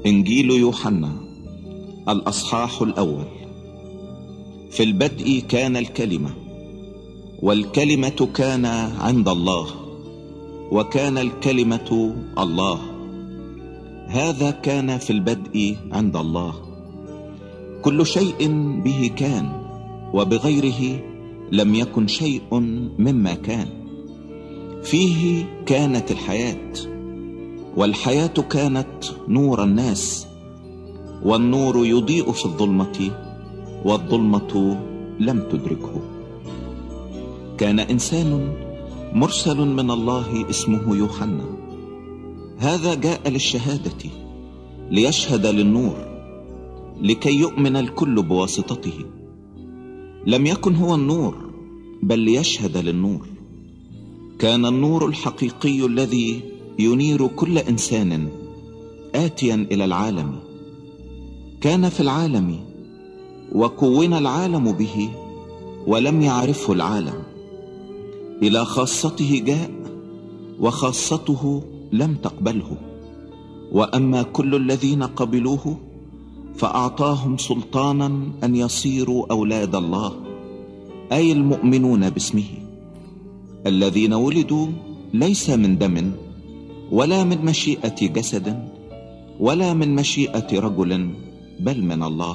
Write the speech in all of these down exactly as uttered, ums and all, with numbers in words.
إنجيل يوحنا الأصحاح الأول. في البدء كان الكلمة، والكلمة كان عند الله، وكان الكلمة الله. هذا كان في البدء عند الله. كل شيء به كان، وبغيره لم يكن شيء مما كان. فيه كانت الحياة، والحياة كانت نور الناس، والنور يضيء في الظلمة، والظلمة لم تدركه. كان إنسان مرسل من الله اسمه يوحنا. هذا جاء للشهادة، ليشهد للنور، لكي يؤمن الكل بواسطته. لم يكن هو النور، بل ليشهد للنور. كان النور الحقيقي الذي ينير كل إنسان آتيا إلى العالم. كان في العالم، وكون العالم به، ولم يعرفه العالم. إلى خاصته جاء، وخاصته لم تقبله. وأما كل الذين قبلوه فأعطاهم سلطانا أن يصيروا أولاد الله، أي المؤمنون باسمه، الذين ولدوا ليس من دم، ولا من مشيئة جسد، ولا من مشيئة رجل، بل من الله.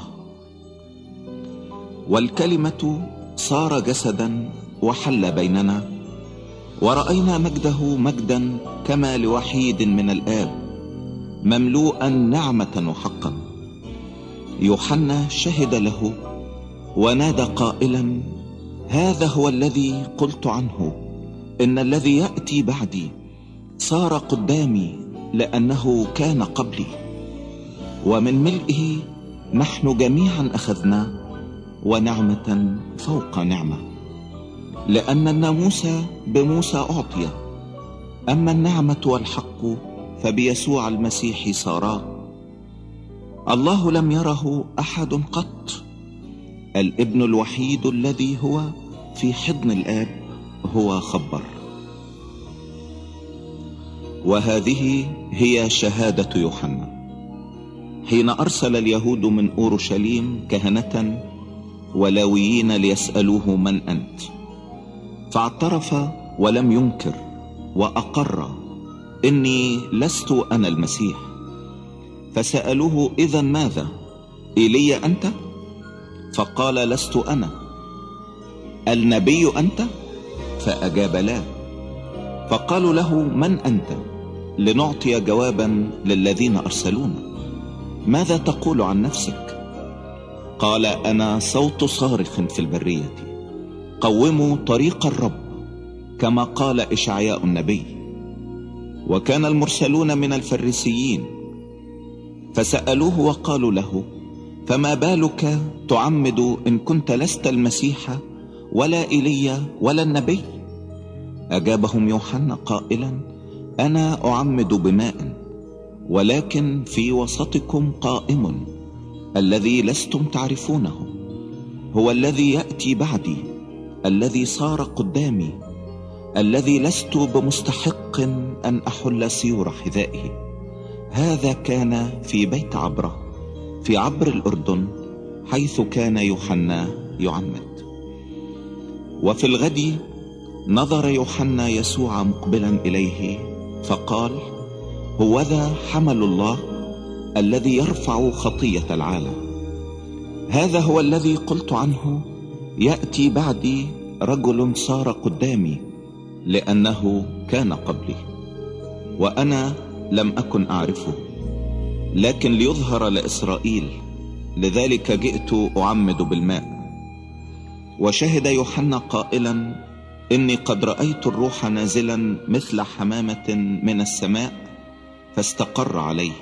والكلمة صار جسدا وحل بيننا، ورأينا مجده مجدا كما لوحيد من الآب، مملوءا نعمة وحقا. يوحنا شهد له ونادى قائلا: هذا هو الذي قلت عنه، إن الذي يأتي بعدي صار قدامي، لأنه كان قبلي. ومن ملئه نحن جميعا أخذنا، ونعمة فوق نعمة. لأن الناموس بموسى أعطي، أما النعمة والحق فبيسوع المسيح صارا. الله لم يره أحد قط، الابن الوحيد الذي هو في حضن الآب هو خبر. وهذه هي شهادة يوحنا حين أرسل اليهود من أورشليم كهنة ولاويين ليسألوه: من أنت؟ فاعترف ولم ينكر، وأقر: إني لست أنا المسيح. فسألوه: إذن ماذا؟ إيليا أنت؟ فقال: لست أنا. النبي أنت؟ فأجاب: لا. فقالوا له: من أنت؟ لنعطي جوابا للذين أرسلونا. ماذا تقول عن نفسك؟ قال: أنا صوت صارخ في البرية، قوموا طريق الرب، كما قال إشعياء النبي. وكان المرسلون من الفريسيين، فسألوه وقالوا له: فما بالك تعمد إن كنت لست المسيح ولا إيليا ولا النبي؟ أجابهم يوحنا قائلا: أنا أعمد بماء، ولكن في وسطكم قائم الذي لستم تعرفونه، هو الذي يأتي بعدي، الذي صار قدامي، الذي لست بمستحق أن أحل سيور حذائه. هذا كان في بيت عبرة في عبر الأردن، حيث كان يوحنا يعمد. وفي الغد نظر يوحنا يسوع مقبلا إليه، فقال: هوذا حمل الله الذي يرفع خطية العالم. هذا هو الذي قلت عنه: يأتي بعدي رجل صار قدامي، لأنه كان قبلي، وأنا لم أكن أعرفه، لكن ليظهر لإسرائيل، لذلك جئت أعمد بالماء. وشهد يوحنا قائلا: إني قد رأيت الروح نازلا مثل حمامة من السماء، فاستقر عليه،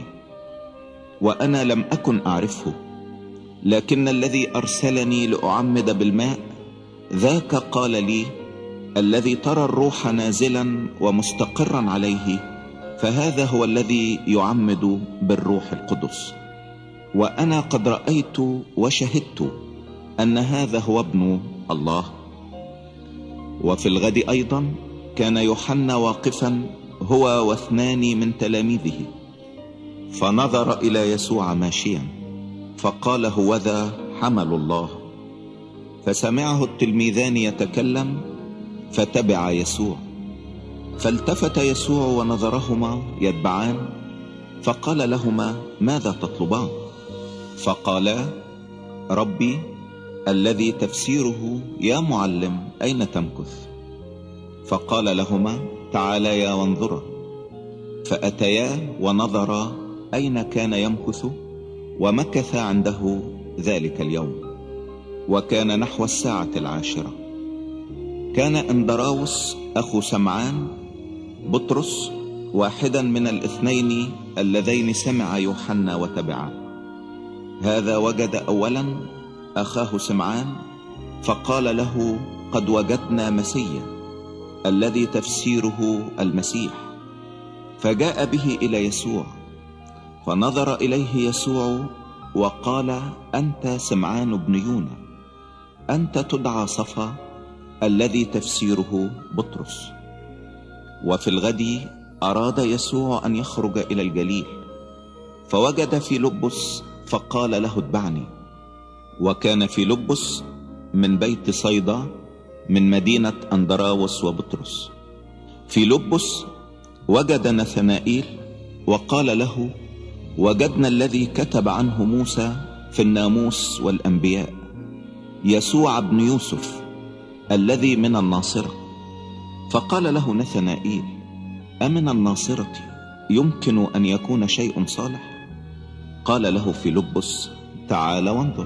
وأنا لم أكن أعرفه، لكن الذي أرسلني لأعمد بالماء ذاك قال لي: الذي ترى الروح نازلا ومستقرا عليه، فهذا هو الذي يعمد بالروح القدس. وأنا قد رأيت وشهدت أن هذا هو ابن الله. وفي الغد أيضا كان يوحنا واقفا هو واثنان من تلاميذه، فنظر إلى يسوع ماشيا فقال: هوذا حمل الله. فسمعه التلميذان يتكلم فتبع يسوع. فالتفت يسوع ونظرهما يتبعان فقال لهما: ماذا تطلبان؟ فقالا: ربي، الذي تفسيره يا معلم، أين تمكث؟ فقال لهما: تعاليا وانظرا. فأتيا ونظرا أين كان يمكث، ومكث عنده ذلك اليوم. وكان نحو الساعة العاشرة. كان اندراوس أخو سمعان بطرس واحدا من الاثنين اللذين سمع يوحنا وتبعا. هذا وجد أولا أخاه سمعان فقال له: قد وجدنا مسيا، الذي تفسيره المسيح. فجاء به إلى يسوع، فنظر إليه يسوع وقال: أنت سمعان بن يونا، أنت تدعى صفا، الذي تفسيره بطرس. وفي الغد أراد يسوع أن يخرج إلى الجليل، فوجد فيلبس فقال له: اتبعني. وكان فيلبس من بيت صيدا من مدينة أندراوس وبطرس. فيلبس وجد نثنائيل وقال له: وجدنا الذي كتب عنه موسى في الناموس والأنبياء، يسوع بن يوسف الذي من الناصرة. فقال له نثنائيل: أمن الناصرة يمكن أن يكون شيء صالح؟ قال له فيلبس: تعال وانظر.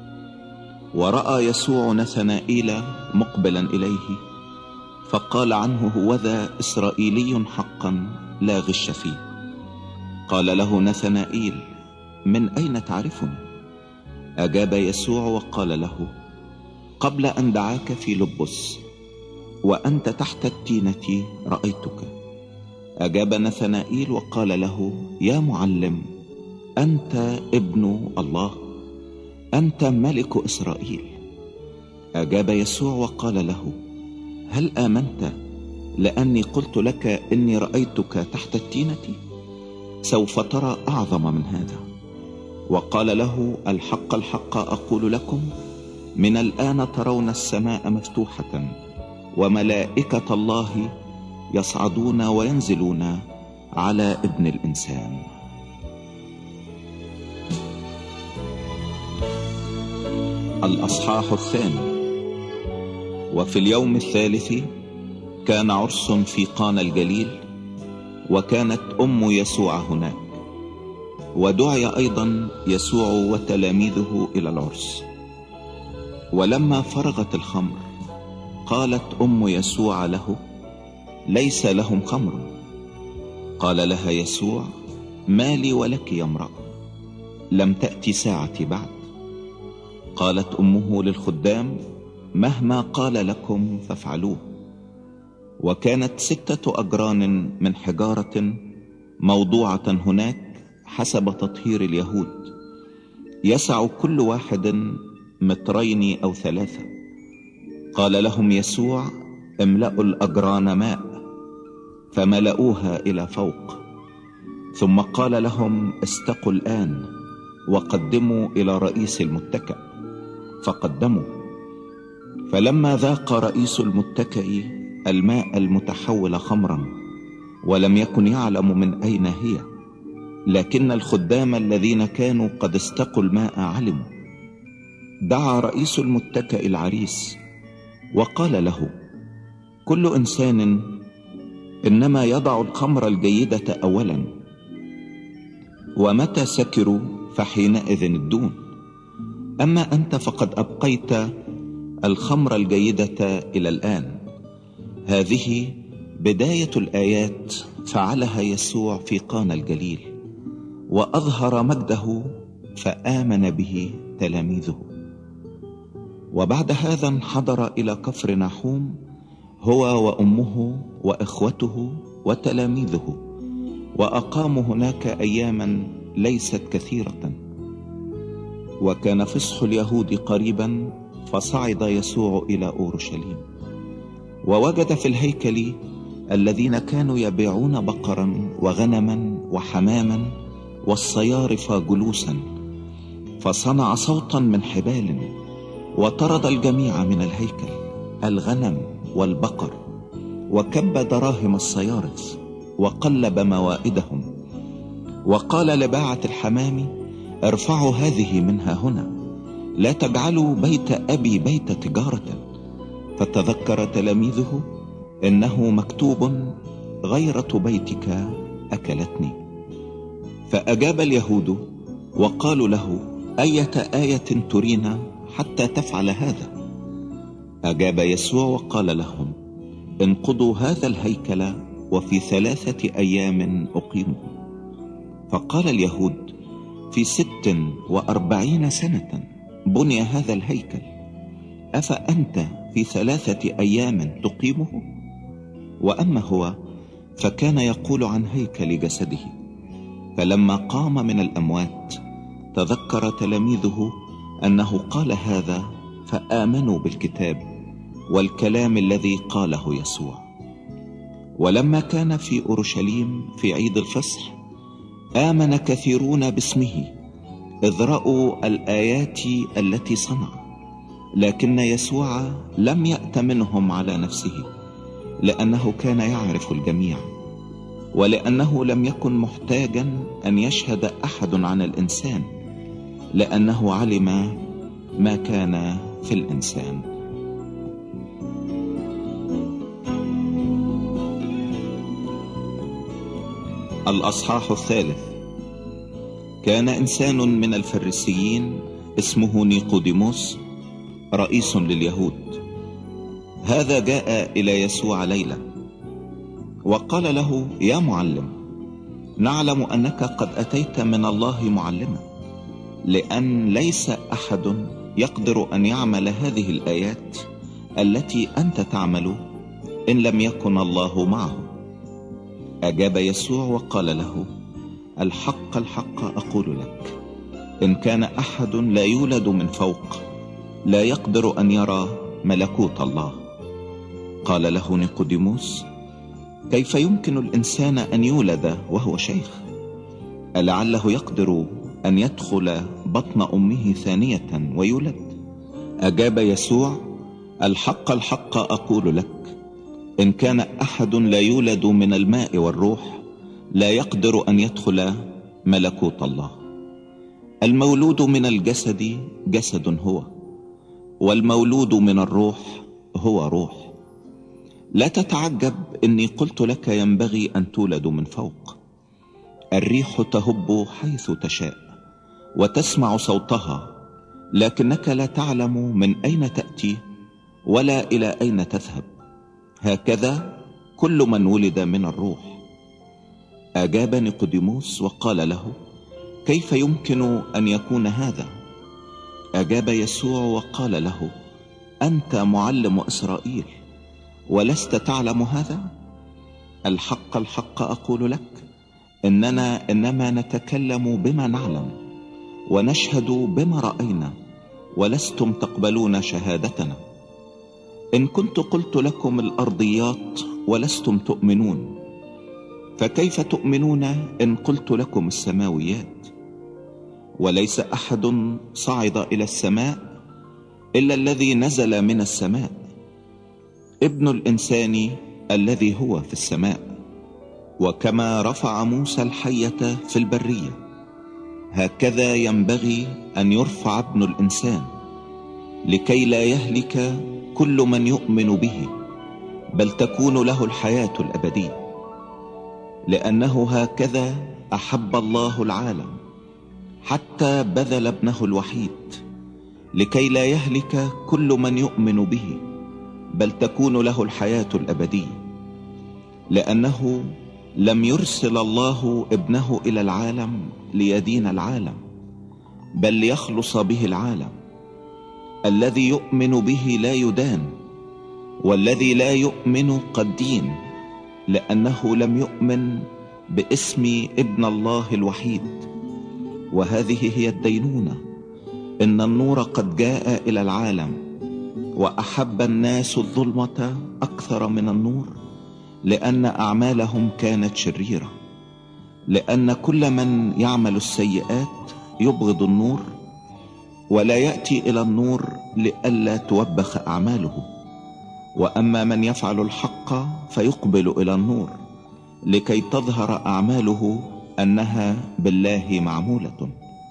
ورأى يسوع نثنائيل مقبلا إليه فقال عنه: هوذا إسرائيلي حقا لا غش فيه. قال له نثنائيل: من أين تعرفني؟ أجاب يسوع وقال له: قبل أن دعاك فيلبس وأنت تحت التينة رأيتك. أجاب نثنائيل وقال له: يا معلم، أنت ابن الله، أنت ملك إسرائيل. أجاب يسوع وقال له: هل آمنت لأني قلت لك إني رأيتك تحت التينة؟ سوف ترى أعظم من هذا. وقال له: الحق الحق أقول لكم، من الآن ترون السماء مفتوحة وملائكة الله يصعدون وينزلون على ابن الإنسان. الأصحاح الثاني. وفي اليوم الثالث كان عرس في قانا الجليل، وكانت أم يسوع هناك، ودعي أيضا يسوع وتلاميذه إلى العرس. ولما فرغت الخمر قالت أم يسوع له: ليس لهم خمر. قال لها يسوع: ما لي ولك يا امرأة؟ لم تأتي ساعتي بعد. قالت أمه للخدام: مهما قال لكم فافعلوه. وكانت ستة أجران من حجارة موضوعة هناك حسب تطهير اليهود، يسع كل واحد مترين أو ثلاثة. قال لهم يسوع: املأوا الأجران ماء، فملأوها إلى فوق. ثم قال لهم: استقوا الآن وقدموا إلى رئيس المتكأ. فقدموا. فلما ذاق رئيس المتكأ الماء المتحول خمرا، ولم يكن يعلم من أين هي، لكن الخدام الذين كانوا قد استقوا الماء علموا، دعا رئيس المتكأ العريس وقال له: كل إنسان إنما يضع الخمر الجيدة أولا، ومتى سكروا فحينئذ الدون. أما أنت فقد أبقيت الخمر الجيدة إلى الآن. هذه بداية الآيات فعلها يسوع في قانا الجليل، وأظهر مجده فآمن به تلاميذه. وبعد هذا انحدر إلى كفر نحوم هو وأمه وإخوته وتلاميذه، وأقاموا هناك أياما ليست كثيرة. وكان فصح اليهود قريبا، فصعد يسوع إلى أورشليم، ووجد في الهيكل الذين كانوا يبيعون بقرا وغنما وحماما والصيارف جلوسا، فصنع صوتا من حبال وطرد الجميع من الهيكل، الغنم والبقر، وكب دراهم الصيارف وقلب موائدهم، وقال لباعة الحمام: ارفعوا هذه منها هنا، لا تجعلوا بيت أبي بيت تجارة. فتذكر تلاميذه إنه مكتوب: غيرة بيتك أكلتني. فأجاب اليهود وقالوا له: أية آية ترينا حتى تفعل هذا؟ أجاب يسوع وقال لهم: انقضوا هذا الهيكل وفي ثلاثة أيام أقيمه. فقال اليهود: في ست وأربعين سنة بني هذا الهيكل، أفأنت في ثلاثة أيام تقيمه؟ وأما هو فكان يقول عن هيكل جسده. فلما قام من الأموات تذكر تلاميذه أنه قال هذا، فآمنوا بالكتاب والكلام الذي قاله يسوع. ولما كان في أورشليم في عيد الفصح آمن كثيرون باسمه، إذ رأوا الآيات التي صنع. لكن يسوع لم يأت منهم على نفسه، لأنه كان يعرف الجميع، ولأنه لم يكن محتاجا أن يشهد أحد عن الإنسان، لأنه علم ما كان في الإنسان. الأصحاح الثالث. كان إنسان من الفريسيين اسمه نيقوديموس، رئيس لليهود. هذا جاء إلى يسوع ليلة وقال له: يا معلم، نعلم أنك قد أتيت من الله معلما، لأن ليس أحد يقدر أن يعمل هذه الآيات التي أنت تعمل إن لم يكن الله معه. أجاب يسوع وقال له: الحق الحق أقول لك، إن كان أحد لا يولد من فوق لا يقدر أن يرى ملكوت الله. قال له نيقوديموس: كيف يمكن الإنسان أن يولد وهو شيخ؟ ألعله يقدر أن يدخل بطن أمه ثانية ويولد؟ أجاب يسوع: الحق الحق أقول لك، إن كان أحد لا يولد من الماء والروح لا يقدر أن يدخل ملكوت الله. المولود من الجسد جسد هو، والمولود من الروح هو روح. لا تتعجب إني قلت لك ينبغي أن تولد من فوق. الريح تهب حيث تشاء وتسمع صوتها، لكنك لا تعلم من أين تأتي ولا إلى أين تذهب. هكذا كل من ولد من الروح. أجاب نيقوديموس وقال له: كيف يمكن أن يكون هذا؟ أجاب يسوع وقال له: أنت معلم إسرائيل ولست تعلم هذا؟ الحق الحق أقول لك، إننا إنما نتكلم بما نعلم ونشهد بما رأينا، ولستم تقبلون شهادتنا. إن كنت قلت لكم الأرضيات ولستم تؤمنون، فكيف تؤمنون إن قلت لكم السماويات؟ وليس أحد صعد إلى السماء إلا الذي نزل من السماء، ابن الإنسان الذي هو في السماء. وكما رفع موسى الحية في البرية، هكذا ينبغي أن يرفع ابن الإنسان، لكي لا يهلك كل من يؤمن به، بل تكون له الحياة الأبدية. لأنه هكذا أحب الله العالم حتى بذل ابنه الوحيد، لكي لا يهلك كل من يؤمن به، بل تكون له الحياة الأبدية. لأنه لم يرسل الله ابنه إلى العالم ليدين العالم، بل ليخلص به العالم. الذي يؤمن به لا يدان، والذي لا يؤمن قد دين، لأنه لم يؤمن باسم ابن الله الوحيد. وهذه هي الدينونة، إن النور قد جاء إلى العالم، وأحب الناس الظلمة أكثر من النور، لأن أعمالهم كانت شريرة. لأن كل من يعمل السيئات يبغض النور ولا يأتي إلى النور لئلا توبخ أعماله، وأما من يفعل الحق فيقبل إلى النور لكي تظهر أعماله أنها بالله معمولة.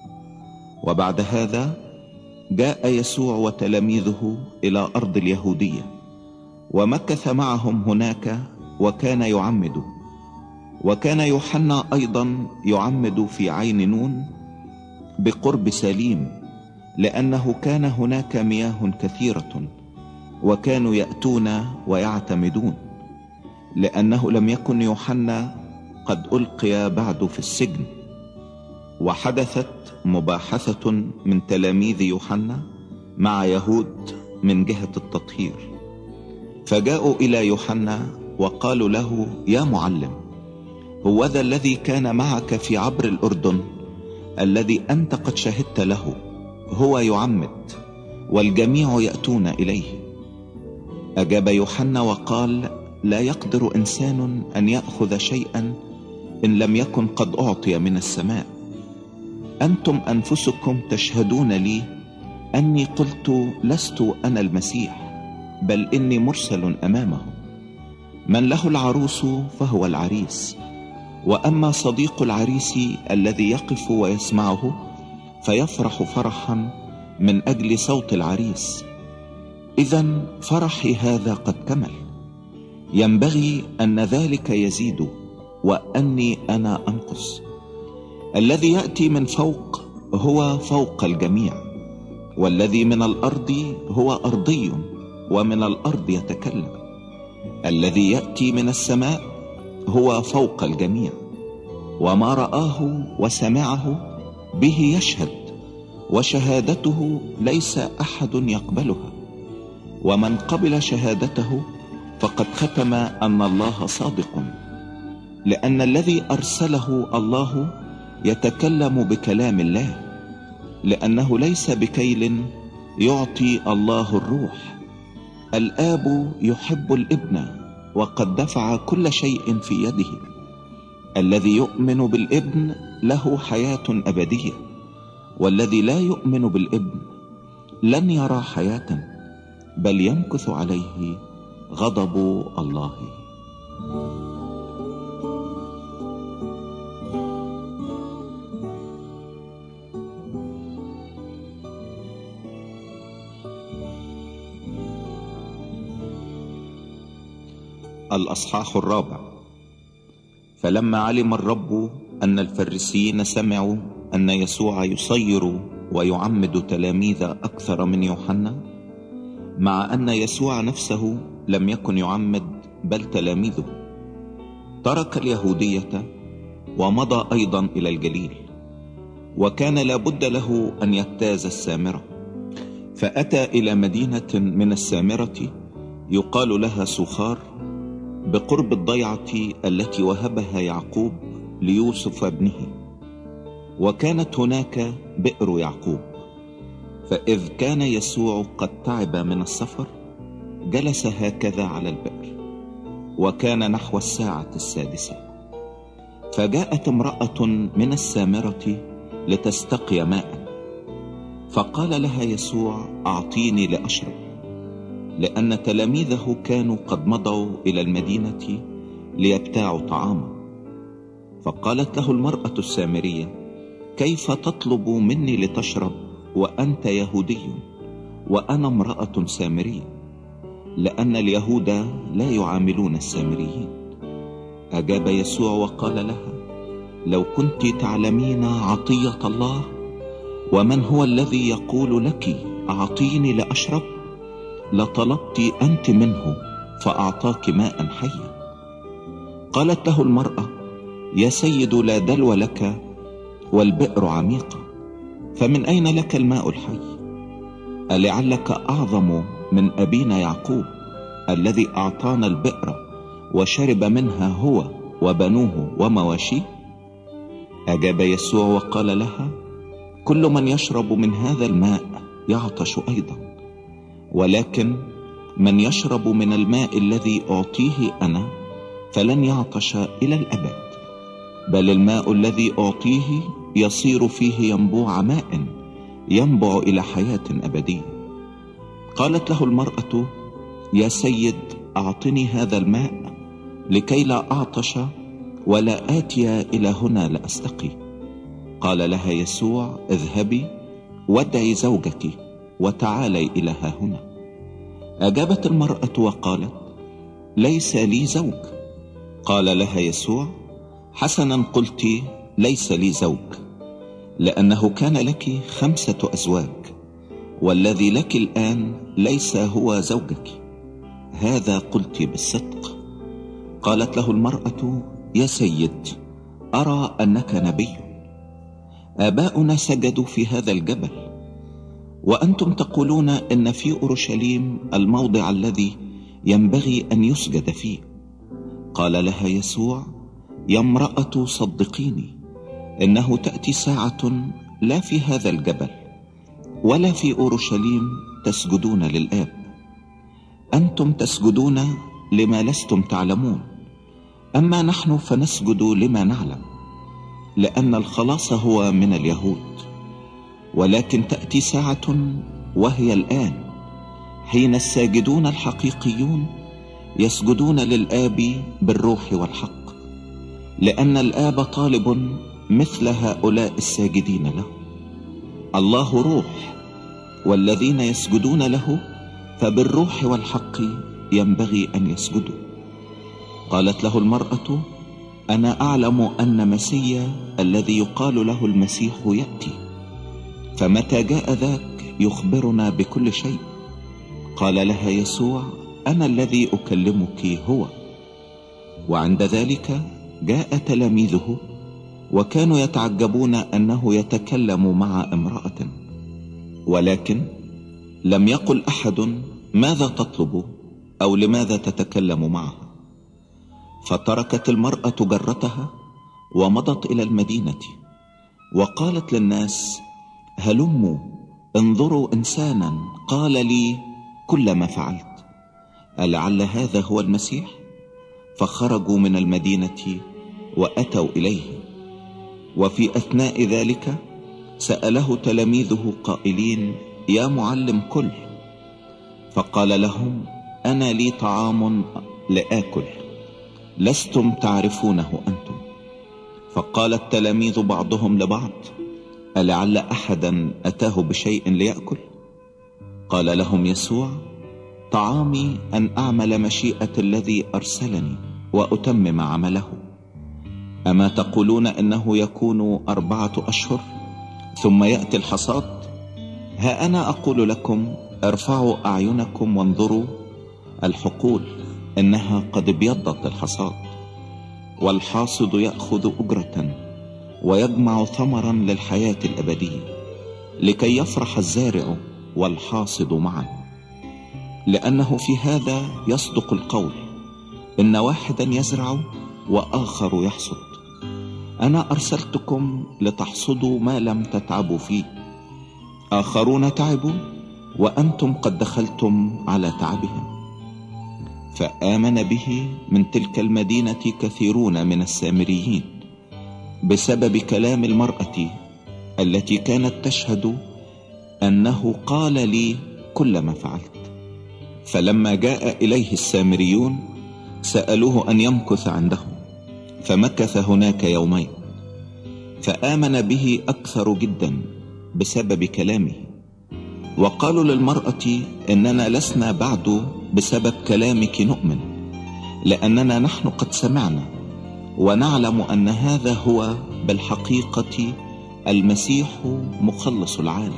وبعد هذا جاء يسوع وتلاميذه إلى أرض اليهودية، ومكث معهم هناك وكان يعمد. وكان يوحنا أيضا يعمد في عين نون بقرب ساليم، لأنه كان هناك مياه كثيرة، وكانوا يأتون ويعتمدون، لأنه لم يكن يوحنا قد ألقي بعد في السجن. وحدثت مباحثة من تلاميذ يوحنا مع يهود من جهة التطهير، فجاءوا إلى يوحنا وقالوا له: يا معلم، هو ذا الذي كان معك في عبر الأردن الذي أنت قد شهدت له هو يعمد، والجميع يأتون إليه. أجاب يوحنا وقال: لا يقدر إنسان أن يأخذ شيئا إن لم يكن قد أعطي من السماء. أنتم أنفسكم تشهدون لي أني قلت لست أنا المسيح، بل إني مرسل أمامه. من له العروس فهو العريس، وأما صديق العريس الذي يقف ويسمعه فيفرح فرحا من أجل صوت العريس. إذن فرحي هذا قد كمل، ينبغي أن ذلك يزيد وأني أنا أنقص. الذي يأتي من فوق هو فوق الجميع، والذي من الأرض هو أرضي ومن الأرض يتكلم. الذي يأتي من السماء هو فوق الجميع، وما رآه وسمعه به يشهد، وشهادته ليس أحد يقبلها. ومن قبل شهادته فقد ختم أن الله صادق، لأن الذي أرسله الله يتكلم بكلام الله، لأنه ليس بكيل يعطي الله الروح. الآب يحب الابن وقد دفع كل شيء في يده. الذي يؤمن بالابن له حياة أبدية، والذي لا يؤمن بالابن لن يرى حياة، بل يمكث عليه غضب الله. الأصحاح الرابع. فلما علم الرب أن الفريسيين سمعوا أن يسوع يصير ويعمد تلاميذ أكثر من يوحنا، مع أن يسوع نفسه لم يكن يعمد بل تلاميذه، ترك اليهودية ومضى أيضا إلى الجليل. وكان لابد له أن يجتاز السامرة، فأتى إلى مدينة من السامرة يقال لها سوخار، بقرب الضيعة التي وهبها يعقوب ليوسف ابنه، وكانت هناك بئر يعقوب. فإذ كان يسوع قد تعب من السفر جلس هكذا على البئر، وكان نحو الساعة السادسة. فجاءت امرأة من السامرة لتستقي ماء، فقال لها يسوع: أعطيني لأشرب، لأن تلاميذه كانوا قد مضوا إلى المدينة ليبتاعوا طعاما. فقالت له المرأة السامرية: كيف تطلب مني لتشرب وأنت يهودي وأنا امرأة سامرية؟ لأن اليهود لا يعاملون السامريين. أجاب يسوع وقال لها: لو كنت تعلمين عطية الله ومن هو الذي يقول لك أعطيني لأشرب، لطلبت أنت منه فأعطاك ماء حيا. قالت له المرأة: يا سيد، لا دلو لك والبئر عميقة، فمن أين لك الماء الحي؟ ألعلك أعظم من أبينا يعقوب الذي أعطانا البئر وشرب منها هو وبنوه ومواشيه؟ أجاب يسوع وقال لها: كل من يشرب من هذا الماء يعطش أيضا، ولكن من يشرب من الماء الذي أعطيه أنا فلن يعطش إلى الأبد، بل الماء الذي أعطيه يصير فيه ينبوع ماء ينبع إلى حياة أبدية. قالت له المرأة: يا سيد، أعطني هذا الماء لكي لا أعطش ولا آتي إلى هنا لأستقي. قال لها يسوع: اذهبي وادعي زوجك وتعالي إلى ها هنا. أجابت المرأة وقالت: ليس لي زوج. قال لها يسوع: حسنا قلت، ليس لي زوج، لأنه كان لك خمسة أزواج، والذي لك الآن ليس هو زوجك، هذا قلت بالصدق. قالت له المرأة: يا سيد، أرى أنك نبي. آباؤنا سجدوا في هذا الجبل، وأنتم تقولون إن في أورشليم الموضع الذي ينبغي أن يسجد فيه. قال لها يسوع: يا امرأة، صدقيني، إنه تأتي ساعة لا في هذا الجبل ولا في أورشليم تسجدون للآب. أنتم تسجدون لما لستم تعلمون، أما نحن فنسجد لما نعلم، لأن الخلاص هو من اليهود. ولكن تأتي ساعة وهي الآن حين الساجدون الحقيقيون يسجدون للآب بالروح والحق، لأن الآب طالب مثل هؤلاء الساجدين له. الله روح، والذين يسجدون له فبالروح والحق ينبغي أن يسجدوا. قالت له المرأة: أنا أعلم أن مسيا الذي يقال له المسيح يأتي، فمتى جاء ذاك يخبرنا بكل شيء. قال لها يسوع: أنا الذي أكلمك هو. وعند ذلك جاء تلاميذه وكانوا يتعجبون أنه يتكلم مع امرأة، ولكن لم يقل أحد: ماذا تطلب؟ أو لماذا تتكلم معها؟ فتركت المرأة جرتها ومضت إلى المدينة، وقالت للناس: هلموا انظروا إنسانا قال لي كل ما فعلت، ألعل هذا هو المسيح؟ فخرجوا من المدينة وأتوا إليه. وفي أثناء ذلك سأله تلاميذه قائلين: يا معلم، كل. فقال لهم: أنا لي طعام لآكل لستم تعرفونه أنتم. فقال التلاميذ بعضهم لبعض: ألعل أحدا أتاه بشيء ليأكل؟ قال لهم يسوع: طعامي أن أعمل مشيئة الذي أرسلني وأتمم عمله. أما تقولون إنه يكون أربعة أشهر ثم يأتي الحصاد؟ ها أنا أقول لكم: ارفعوا أعينكم وانظروا الحقول إنها قد ابيضت الحصاد، والحاصد يأخذ أجرة ويجمع ثمرا للحياة الأبدية، لكي يفرح الزارع والحاصد معا. لأنه في هذا يصدق القول: إن واحدا يزرع وآخر يحصد. أنا أرسلتكم لتحصدوا ما لم تتعبوا فيه. آخرون تعبوا وأنتم قد دخلتم على تعبهم. فآمن به من تلك المدينة كثيرون من السامريين بسبب كلام المرأة التي كانت تشهد أنه قال لي كل ما فعلت. فلما جاء إليه السامريون سألوه أن يمكث عندهم، فمكث هناك يومين. فآمن به أكثر جدا بسبب كلامه. وقالوا للمرأة: إننا لسنا بعد بسبب كلامك نؤمن، لأننا نحن قد سمعنا ونعلم أن هذا هو بالحقيقة المسيح مخلص العالم.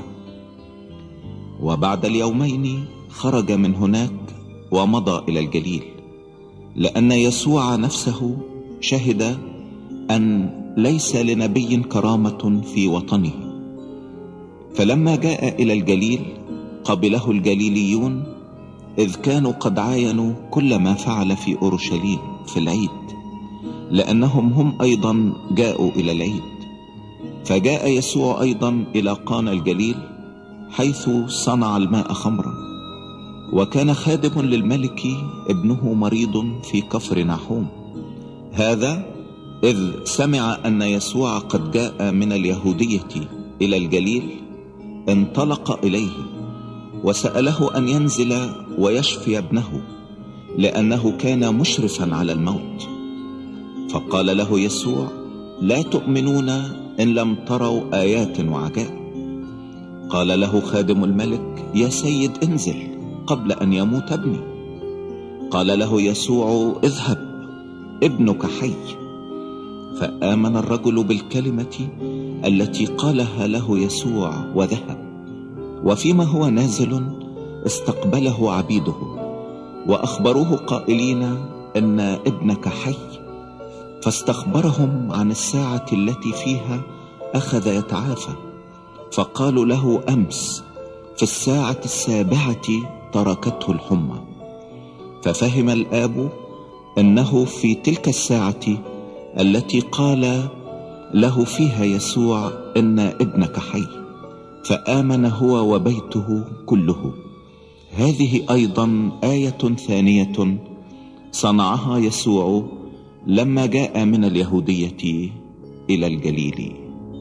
وبعد اليومين خرج من هناك ومضى إلى الجليل، لأن يسوع نفسه شهد أن ليس لنبي كرامة في وطنه. فلما جاء إلى الجليل قبله الجليليون، إذ كانوا قد عاينوا كل ما فعل في أورشليم في العيد، لأنهم هم أيضا جاءوا إلى العيد. فجاء يسوع أيضا إلى قانا الجليل حيث صنع الماء خمرا. وكان خادم للملك ابنه مريض في كفر نحوم. هذا إذ سمع أن يسوع قد جاء من اليهودية إلى الجليل انطلق إليه وسأله أن ينزل ويشفي ابنه، لأنه كان مشرفا على الموت. فقال له يسوع: لا تؤمنون إن لم تروا آيات وعجائب. قال له خادم الملك: يا سيد انزل قبل أن يموت ابني. قال له يسوع: اذهب، ابنك حي. فآمن الرجل بالكلمة التي قالها له يسوع وذهب. وفيما هو نازل استقبله عبيده وأخبروه قائلين إن ابنك حي. فاستخبرهم عن الساعة التي فيها أخذ يتعافى، فقالوا له: أمس في الساعة السابعة تركته الحمى. ففهم الآب أنه في تلك الساعة التي قال له فيها يسوع إن ابنك حي، فآمن هو وبيته كله. هذه أيضا آية ثانية صنعها يسوع لما جاء من اليهودية إلى الجليل.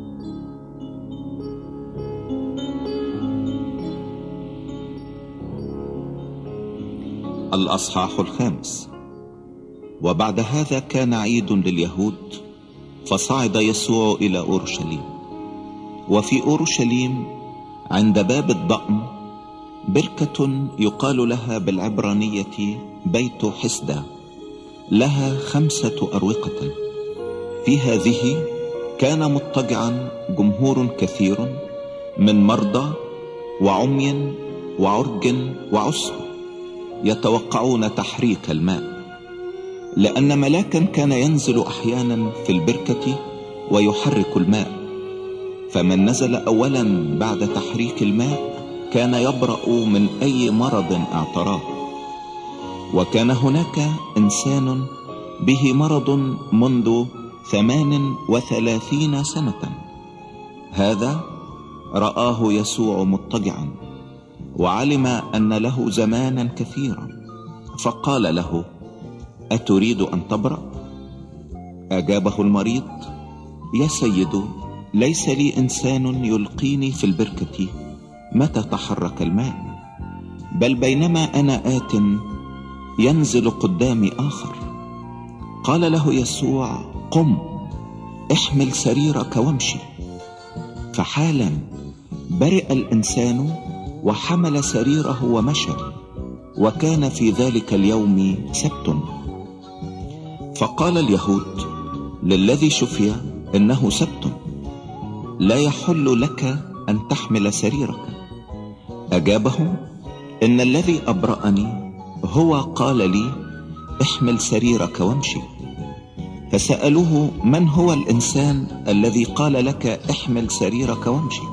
الأصحاح الخامس. وبعد هذا كان عيد لليهود، فصعد يسوع إلى أورشليم. وفي أورشليم عند باب الضأن بركة يقال لها بالعبرانية بيت حسدة، لها خمسة أروقة. في هذه كان مضطجعا جمهور كثير من مرضى وعمي وعرج وعسر، يتوقعون تحريك الماء، لأن ملاكا كان ينزل أحيانا في البركة ويحرك الماء. فمن نزل أولا بعد تحريك الماء كان يبرأ من أي مرض اعتراه. وكان هناك إنسان به مرض منذ ثمان وثلاثين سنة. هذا رآه يسوع مضطجعا وعلم أن له زمانا كثيرا، فقال له: أتريد أن تبرأ؟ أجابه المريض: يا سيد، ليس لي إنسان يلقيني في البركة متى تحرك الماء، بل بينما أنا آت ينزل قدامي آخر. قال له يسوع: قم، احمل سريرك وامشي. فحالا برئ الإنسان وحمل سريره ومشى. وكان في ذلك اليوم سبت. فقال اليهود للذي شفي إنه سبت، لا يحل لك أن تحمل سريرك. أجابهم: إن الذي أبرأني هو قال لي: احمل سريرك وامشي. فسألوه: من هو الإنسان الذي قال لك احمل سريرك وامشي؟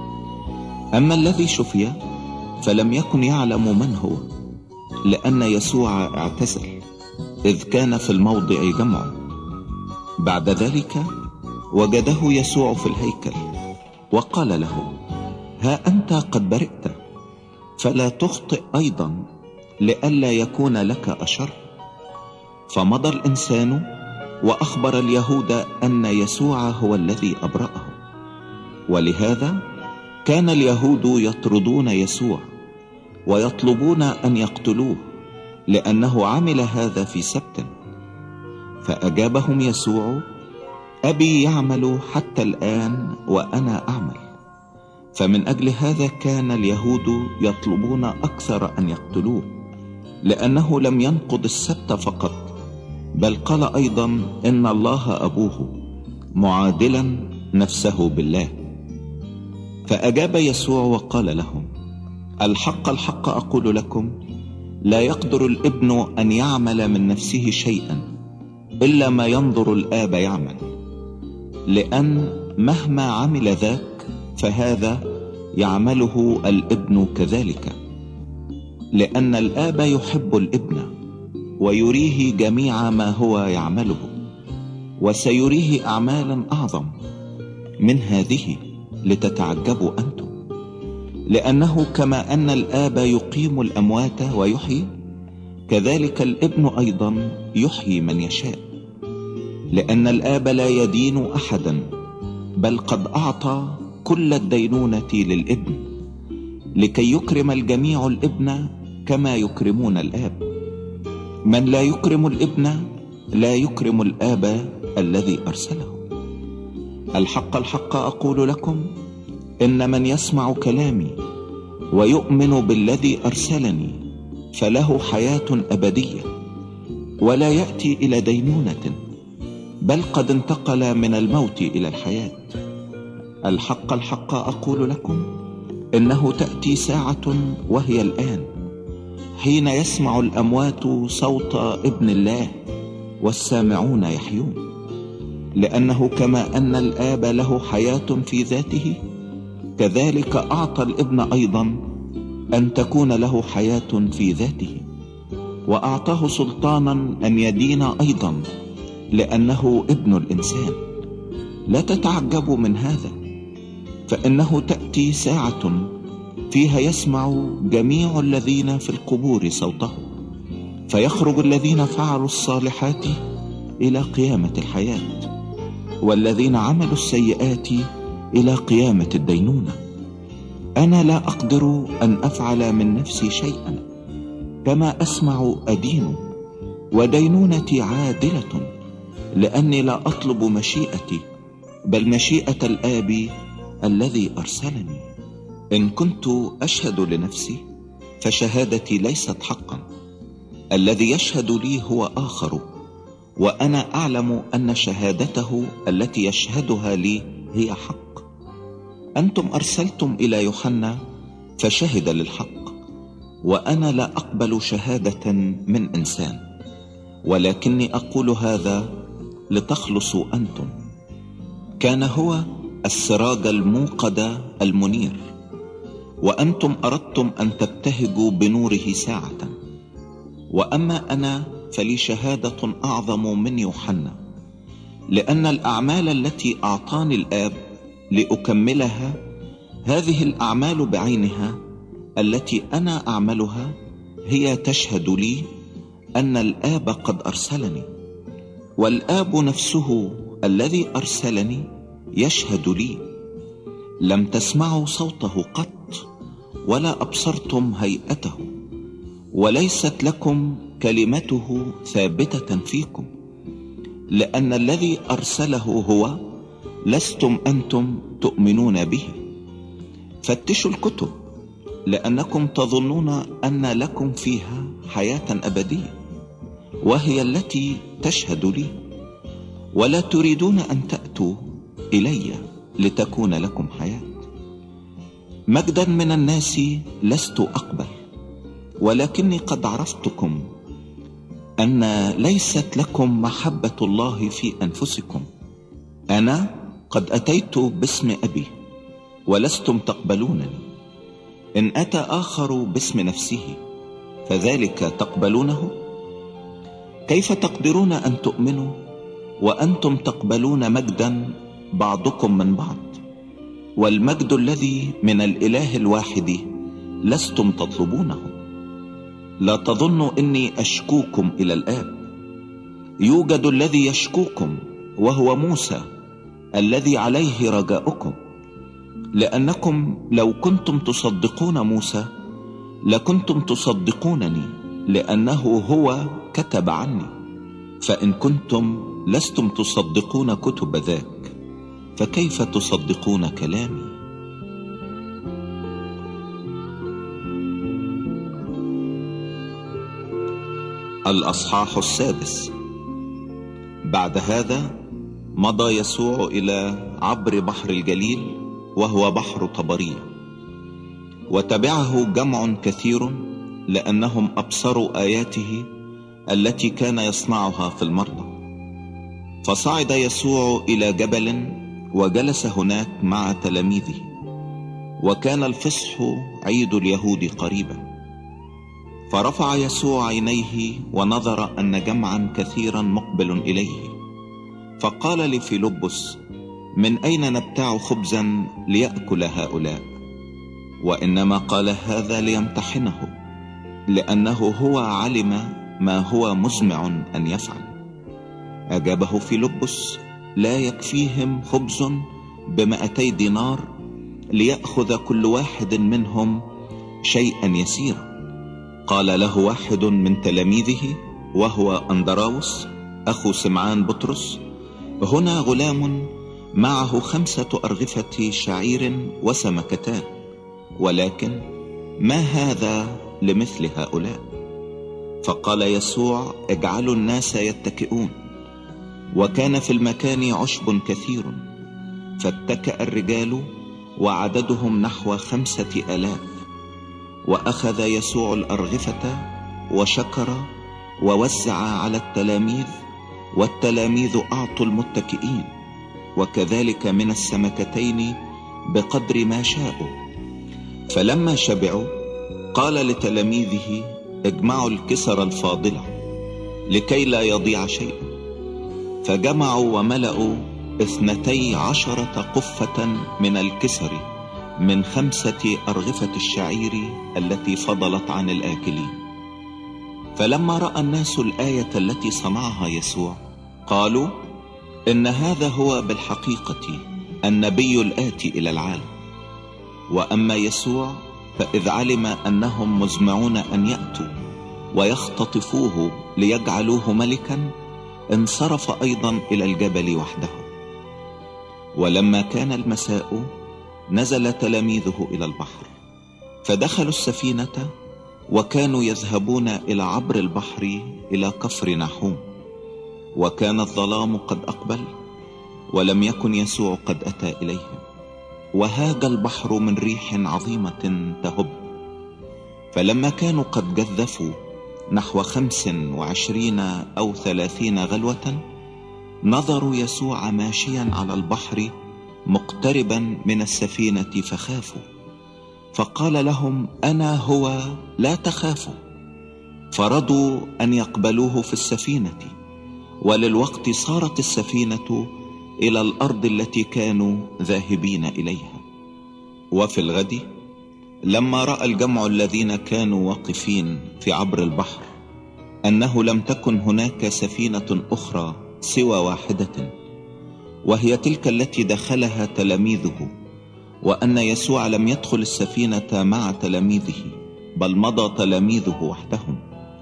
أما الذي شفي فلم يكن يعلم من هو، لأن يسوع اعتزل، إذ كان في الموضع جمع. بعد ذلك وجده يسوع في الهيكل وقال له: ها أنت قد برئت، فلا تخطئ أيضا، لئلا يكون لك أشر. فمضى الإنسان وأخبر اليهود أن يسوع هو الذي أبرأه. ولهذا كان اليهود يطردون يسوع ويطلبون أن يقتلوه، لأنه عمل هذا في سبت. فأجابهم يسوع: أبي يعمل حتى الآن وأنا أعمل. فمن أجل هذا كان اليهود يطلبون أكثر أن يقتلوه، لأنه لم ينقض السبت فقط، بل قال أيضا إن الله أبوه، معادلا نفسه بالله. فأجاب يسوع وقال لهم: الحق الحق أقول لكم، لا يقدر الابن أن يعمل من نفسه شيئا إلا ما ينظر الآب يعمل، لأن مهما عمل ذاك فهذا يعمله الابن كذلك، لأن الآب يحب الابن ويريه جميع ما هو يعمله، وسيريه أعمالا أعظم من هذه لتتعجبوا أنتم. لأنه كما أن الآب يقيم الأموات ويحيي، كذلك الابن أيضا يحيي من يشاء. لأن الآب لا يدين أحدا، بل قد أعطى كل الدينونة للابن، لكي يكرم الجميع الابن كما يكرمون الآب. من لا يكرم الابن لا يكرم الآب الذي أرسله. الحق الحق أقول لكم، إن من يسمع كلامي ويؤمن بالذي أرسلني فله حياة أبدية، ولا يأتي إلى دينونة، بل قد انتقل من الموت إلى الحياة. الحق الحق أقول لكم، إنه تأتي ساعة وهي الآن، حين يسمع الأموات صوت ابن الله والسامعون يحيون. لأنه كما أن الآب له حياة في ذاته، كذلك أعطى الابن أيضا أن تكون له حياة في ذاته، وأعطاه سلطانا أن يدين أيضا، لأنه ابن الإنسان. لا تتعجبوا من هذا، فإنه تأتي ساعة فيها يسمع جميع الذين في القبور صوته، فيخرج الذين فعلوا الصالحات إلى قيامة الحياة، والذين عملوا السيئات إلى قيامة الدينونة. أنا لا أقدر أن أفعل من نفسي شيئا، كما أسمع أدين، ودينونتي عادلة، لأني لا أطلب مشيئتي، بل مشيئة الآب الذي أرسلني. إن كنت أشهد لنفسي فشهادتي ليست حقا، الذي يشهد لي هو آخر، وأنا أعلم أن شهادته التي يشهدها لي هي حق. أنتم أرسلتم إلى يوحنا فشهد للحق، وأنا لا أقبل شهادة من إنسان، ولكني أقول هذا لتخلصوا أنتم. كان هو السراج الموقد المنير، وأنتم أردتم أن تبتهجوا بنوره ساعة. وأما أنا فلي شهادة أعظم من يوحنا، لأن الأعمال التي أعطاني الآب لأكملها، هذه الأعمال بعينها التي أنا أعملها هي تشهد لي أن الآب قد أرسلني، والآب نفسه الذي أرسلني يشهد لي. لم تسمعوا صوته قط، ولا أبصرتم هيئته، وليست لكم كلمته ثابتة فيكم، لأن الذي أرسله هو، لستم أنتم تؤمنون به. فتشوا الكتب، لأنكم تظنون أن لكم فيها حياة أبدية، وهي التي تشهد لي، ولا تريدون أن تأتوا إلي لتكون لكم حياة. مجدا من الناس لست أقبل، ولكني قد عرفتكم أن ليست لكم محبة الله في أنفسكم. أنا قد أتيت باسم أبي ولستم تقبلونني، إن أتى آخر باسم نفسه فذلك تقبلونه. كيف تقدرون أن تؤمنوا وأنتم تقبلون مجدا بعضكم من بعض، والمجد الذي من الإله الواحد لستم تطلبونه؟ لا تظنوا إني أشكوكم إلى الآب، يوجد الذي يشكوكم، وهو موسى الذي عليه رجاؤكم. لأنكم لو كنتم تصدقون موسى لكنتم تصدقونني، لأنه هو كتب عني. فإن كنتم لستم تصدقون كتب ذاك، فكيف تصدقون كلامي؟ الأصحاح السادس. بعد هذا مضى يسوع إلى عبر بحر الجليل، وهو بحر طبرية، وتبعه جمع كثير، لأنهم أبصروا آياته التي كان يصنعها في المرضى. فصعد يسوع إلى جبل وجلس هناك مع تلاميذه، وكان الفصح عيد اليهود قريبا. فرفع يسوع عينيه ونظر أن جمعا كثيرا مقبل إليه، فقال لفيلبس: من أين نبتاع خبزا ليأكل هؤلاء؟ وإنما قال هذا ليمتحنه، لأنه هو علم ما هو مزمع أن يفعل. أجابه فيلبس: لا يكفيهم خبز بمائتي دينار ليأخذ كل واحد منهم شيئا يسيرا. قال له واحد من تلاميذه وهو أندراوس أخو سمعان بطرس: هنا غلام معه خمسة أرغفة شعير وسمكتان، ولكن ما هذا لمثل هؤلاء؟ فقال يسوع: اجعلوا الناس يتكئون. وكان في المكان عشب كثير، فاتكأ الرجال وعددهم نحو خمسة آلاف. وأخذ يسوع الأرغفة وشكر ووزع على التلاميذ، والتلاميذ أعطوا المتكئين، وكذلك من السمكتين بقدر ما شاءوا. فلما شبعوا قال لتلاميذه: اجمعوا الكسر الفاضلة لكي لا يضيع شيء. فجمعوا وملأوا اثنتي عشرة قفة من الكسر من خمسة أرغفة الشعير التي فضلت عن الآكلين. فلما رأى الناس الآية التي صنعها يسوع قالوا: إن هذا هو بالحقيقة النبي الآتي إلى العالم. وأما يسوع فإذ علم أنهم مزمعون أن يأتوا ويختطفوه ليجعلوه ملكا، انصرف أيضا إلى الجبل وحده. ولما كان المساء نزل تلاميذه إلى البحر، فدخلوا السفينة وكانوا يذهبون إلى عبر البحر إلى كفر ناحوم. وكان الظلام قد أقبل، ولم يكن يسوع قد أتى إليهم، وهاج البحر من ريح عظيمة تهب. فلما كانوا قد جذفوا نحو خمس وعشرين أو ثلاثين غلوة، نظروا يسوع ماشيا على البحر مقتربا من السفينة فخافوا. فقال لهم: أنا هو، لا تخافوا. فرضوا أن يقبلوه في السفينة، وللوقت صارت السفينة إلى الأرض التي كانوا ذاهبين إليها. وفي الغد لما رأى الجمع الذين كانوا واقفين في عبر البحر أنه لم تكن هناك سفينة أخرى سوى واحدة، وهي تلك التي دخلها تلاميذه، وأن يسوع لم يدخل السفينة مع تلاميذه، بل مضى تلاميذه وحدهم،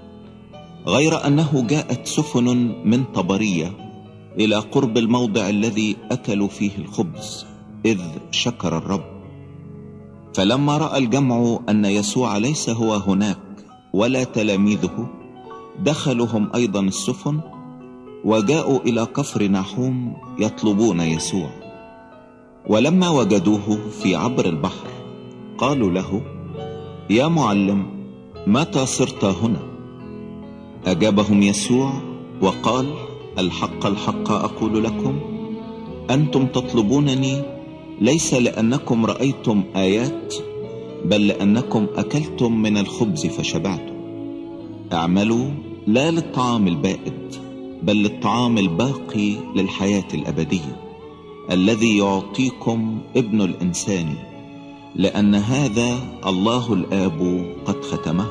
غير أنه جاءت سفن من طبرية إلى قرب الموضع الذي أكلوا فيه الخبز، إذ شكر الرب. فلما رأى الجمع أن يسوع ليس هو هناك ولا تلاميذه، دخلوا هم أيضا السفن وجاءوا إلى كفر ناحوم يطلبون يسوع. ولما وجدوه في عبر البحر قالوا له: يا معلم، متى صرت هنا؟ أجابهم يسوع وقال: الحق الحق أقول لكم، أنتم تطلبونني ليس لأنكم رأيتم آيات، بل لأنكم أكلتم من الخبز فشبعتم. اعملوا لا للطعام البائد، بل للطعام الباقي للحياة الأبدية الذي يعطيكم ابن الإنسان، لأن هذا الله الآب قد ختمه.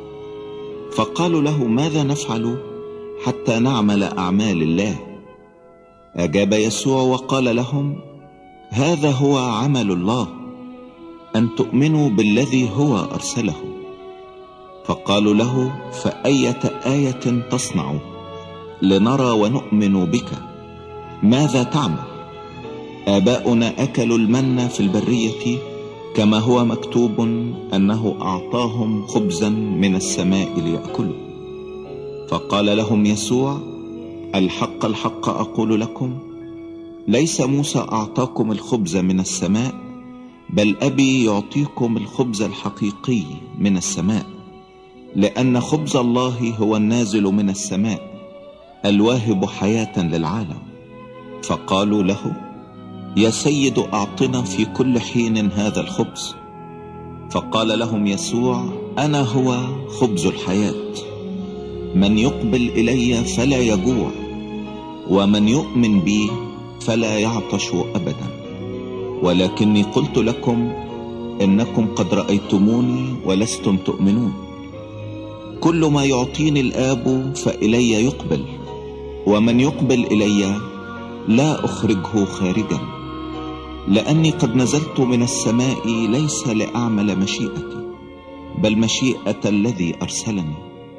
فقالوا له: ماذا نفعل حتى نعمل أعمال الله؟ أجاب يسوع وقال لهم: هذا هو عمل الله، أن تؤمنوا بالذي هو أرسله. فقالوا له: فأية آية تصنع لنرى ونؤمن بك؟ ماذا تعمل؟ آباؤنا أكلوا المن في البرية، كما هو مكتوب أنه أعطاهم خبزا من السماء ليأكلوا. فقال لهم يسوع: الحق الحق أقول لكم، ليس موسى أعطاكم الخبز من السماء، بل أبي يعطيكم الخبز الحقيقي من السماء، لأن خبز الله هو النازل من السماء الواهب حياة للعالم. فقالوا له: يا سيد، أعطنا في كل حين هذا الخبز. فقال لهم يسوع: أنا هو خبز الحياة، من يقبل إلي فلا يجوع، ومن يؤمن بي فلا يعطش أبدا. ولكني قلت لكم إنكم قد رأيتموني ولستم تؤمنون. كل ما يعطيني الآب فإلي يقبل، ومن يقبل إلي لا أخرجه خارجا، لأني قد نزلت من السماء ليس لأعمل مشيئتي بل مشيئة الذي أرسلني،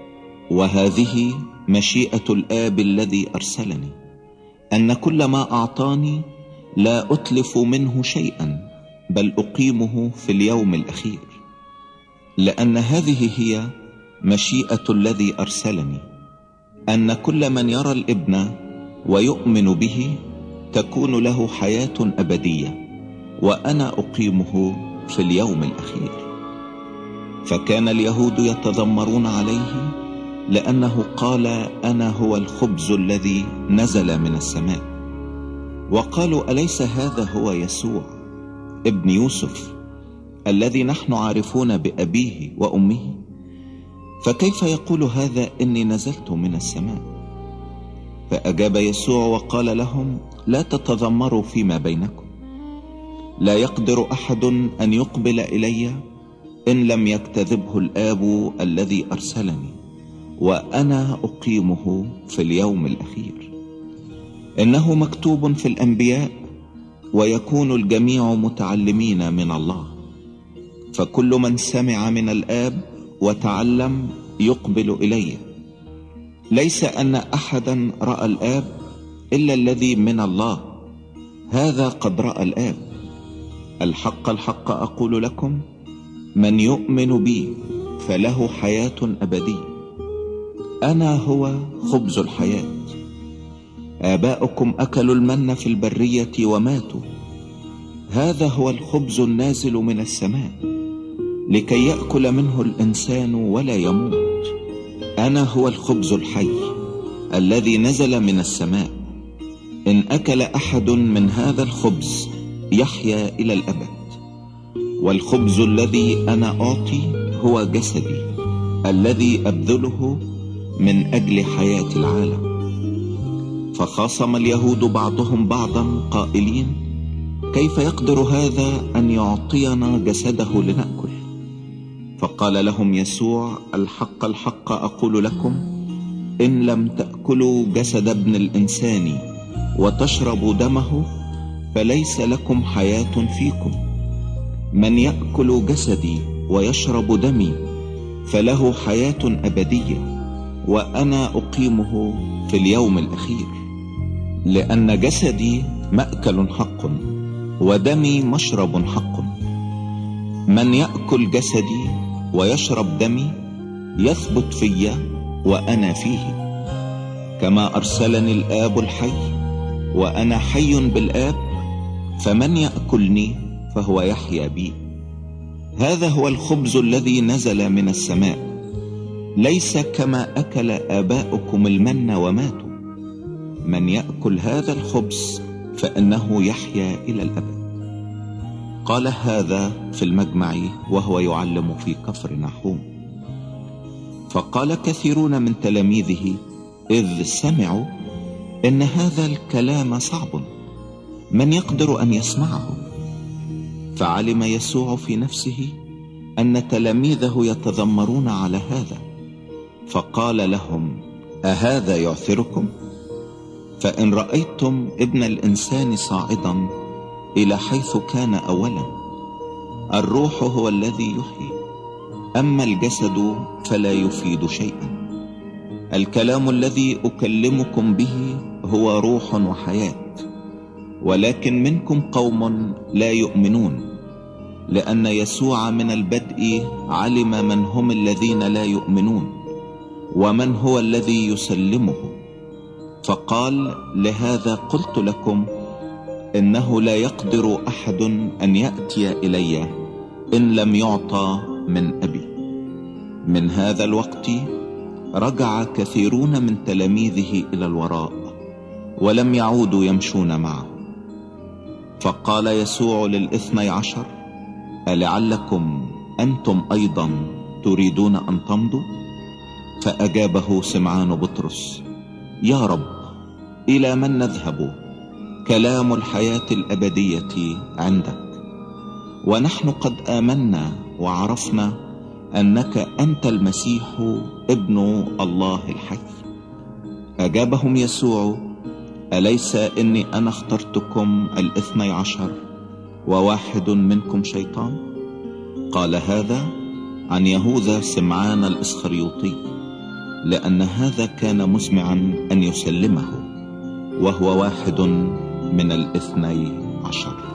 وهذه مشيئة الآب الذي أرسلني، أن كل ما أعطاني لا أتلف منه شيئا بل أقيمه في اليوم الأخير، لأن هذه هي مشيئة الذي أرسلني، أن كل من يرى الابن ويؤمن به تكون له حياة أبدية، وأنا أقيمه في اليوم الأخير. فكان اليهود يتذمرون عليه لأنه قال أنا هو الخبز الذي نزل من السماء، وقالوا أليس هذا هو يسوع ابن يوسف الذي نحن عارفون بأبيه وأمه؟ فكيف يقول هذا إني نزلت من السماء؟ فأجاب يسوع وقال لهم لا تتذمروا فيما بينكم، لا يقدر أحد أن يقبل إلي إن لم يكتذبه الآب الذي أرسلني، وأنا أقيمه في اليوم الأخير. إنه مكتوب في الأنبياء ويكون الجميع متعلمين من الله، فكل من سمع من الآب وتعلم يقبل إليه. ليس أن أحدا رأى الآب إلا الذي من الله، هذا قد رأى الآب. الحق الحق أقول لكم، من يؤمن بي فله حياة أبدية. أنا هو خبز الحياة. آباؤكم أكلوا المن في البرية وماتوا، هذا هو الخبز النازل من السماء لكي يأكل منه الإنسان ولا يموت. أنا هو الخبز الحي الذي نزل من السماء، إن أكل أحد من هذا الخبز يحيا إلى الأبد. والخبز الذي أنا أعطي هو جسدي الذي أبذله من أجل حياة العالم. فخاصم اليهود بعضهم بعضا قائلين كيف يقدر هذا أن يعطينا جسده لنأكل؟ فقال لهم يسوع الحق الحق أقول لكم، إن لم تأكلوا جسد ابن الإنسان وتشربوا دمه فليس لكم حياة فيكم. من يأكل جسدي ويشرب دمي فله حياة أبدية، وأنا أقيمه في اليوم الأخير. لأن جسدي مأكل حق ودمي مشرب حق. من يأكل جسدي ويشرب دمي يثبت في وأنا فيه، كما أرسلني الآب الحي وأنا حي بالآب، فمن يأكلني فهو يحيا بي. هذا هو الخبز الذي نزل من السماء، ليس كما أكل آباؤكم المن وماتوا. من يأكل هذا الخبز فإنه يحيا إلى الأبد. قال هذا في المجمع وهو يعلم في كفر نحوم. فقال كثيرون من تلاميذه إذ سمعوا إن هذا الكلام صعب، من يقدر أن يسمعه؟ فعلم يسوع في نفسه أن تلاميذه يتذمرون على هذا، فقال لهم أهذا يعثركم؟ فإن رأيتم ابن الإنسان صاعدا إلى حيث كان أولا، الروح هو الذي يحيي، أما الجسد فلا يفيد شيئا. الكلام الذي أكلمكم به هو روح وحياة، ولكن منكم قوم لا يؤمنون. لأن يسوع من البدء علم من هم الذين لا يؤمنون ومن هو الذي يسلمه، فقال لهذا قلت لكم إنه لا يقدر أحد أن يأتي إلي إن لم يعطى من أبي. من هذا الوقت رجع كثيرون من تلاميذه إلى الوراء ولم يعودوا يمشون معه. فقال يسوع للاثني عشر ألعلكم أنتم أيضا تريدون أن تمضوا؟ فأجابه سمعان بطرس يا رب إلى من نذهب؟ كلام الحياة الأبدية عندك، ونحن قد آمنا وعرفنا أنك أنت المسيح ابن الله الحي. أجابهم يسوع: أليس إني أنا اخترتكم الاثني عشر وواحد منكم شيطان؟ قال هذا عن يهوذا سمعان الإسخريوطي، لأن هذا كان مسمعا أن يسلمه، وهو واحد من الاثني عشر.